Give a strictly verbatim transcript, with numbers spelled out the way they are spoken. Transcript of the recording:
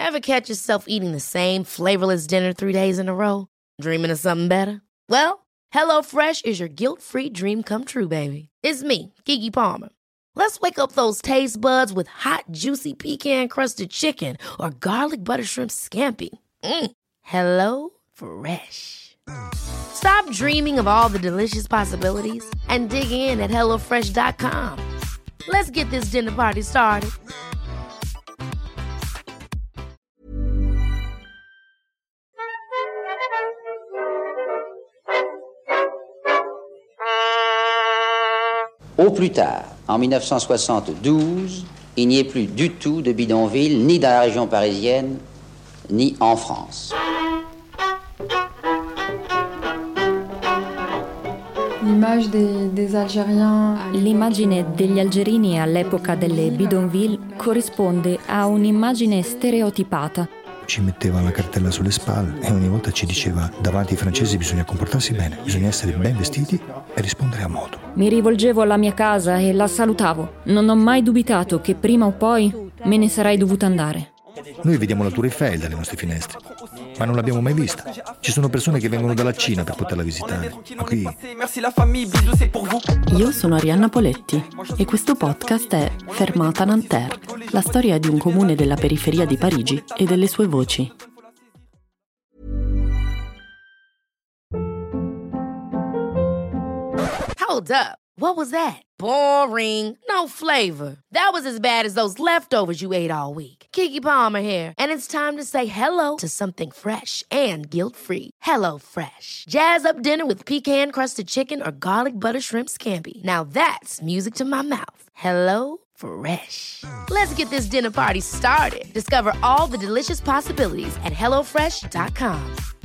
Ever catch yourself eating the same flavorless dinner three days in a row? Dreaming of something better? Well, HelloFresh is your guilt-free dream come true, baby. It's me, Keke Palmer. Let's wake up those taste buds with hot, juicy pecan-crusted chicken or garlic butter shrimp scampi. Mm. Hello Fresh. Stop dreaming of all the delicious possibilities and dig in at hello fresh dot com. Let's get this dinner party started. Au plus tard, en mille neuf cent soixante-douze, il n'y ait plus du tout de bidonville, ni dans la région parisienne, ni en France. L'immagine degli algerini all'epoca delle bidonville corrisponde a un'immagine stereotipata. Ci metteva la cartella sulle spalle e ogni volta ci diceva: davanti ai francesi bisogna comportarsi bene, bisogna essere ben vestiti e rispondere a modo. Mi rivolgevo alla mia casa e la salutavo. Non ho mai dubitato che prima o poi me ne sarei dovuta andare. Noi vediamo la Tour Eiffel dalle nostre finestre, ma non l'abbiamo mai vista. Ci sono persone che vengono dalla Cina per poterla visitare, ma qui... Io sono Arianna Poletti e questo podcast è Fermata Nanterre, la storia di un comune della periferia di Parigi e delle sue voci. Hold up. What was that? Boring. No flavor. That was as bad as those leftovers you ate all week. Keke Palmer here, and it's time to say hello to something fresh and guilt-free. Hello Fresh. Jazz up dinner with pecan-crusted chicken or garlic butter shrimp scampi. Now that's music to my mouth. Hello Fresh. Let's get this dinner party started. Discover all the delicious possibilities at hello fresh dot com.